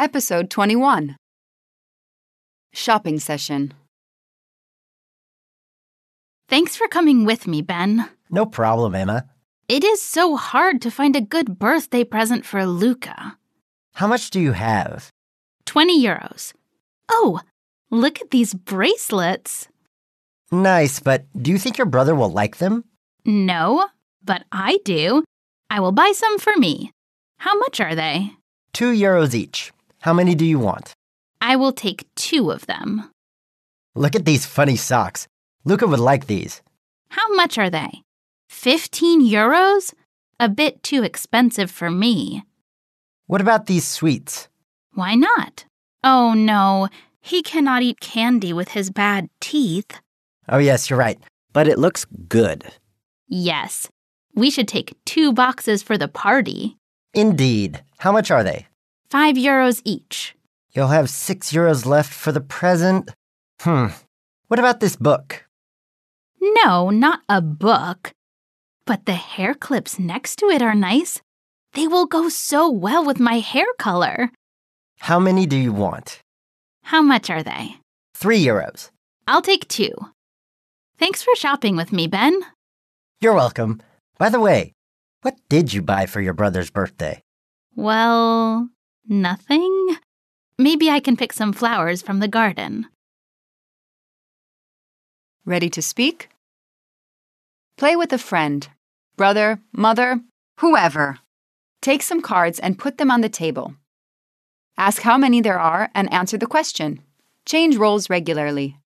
Episode 21. Shopping Session. Thanks for coming with me, Ben. No problem, Emma. It is so hard to find a good birthday present for Luca. How much do you have? 20 euros. Oh, look at these bracelets. Nice, but do you think your brother will like them? No, but I do. I will buy some for me. How much are they? 2 euros each. How many do you want? I will take 2 of them. Look at these funny socks. Luca would like these. How much are they? 15 euros? A bit too expensive for me. What about these sweets? Why not? Oh no, he cannot eat candy with his bad teeth. Oh yes, you're right. But it looks good. Yes, we should take 2 boxes for the party. Indeed. How much are they? 5 euros each. You'll have 6 euros left for the present. What about this book? No, not a book. But the hair clips next to it are nice. They will go so well with my hair color. How many do you want? How much are they? 3 euros. I'll take 2. Thanks for shopping with me, Ben. You're welcome. By the way, what did you buy for your brother's birthday? Well, nothing. Maybe I can pick some flowers from the garden. Ready to speak? Play with a friend, brother, mother, whoever. Take some cards and put them on the table. Ask how many there are and answer the question. Change roles regularly.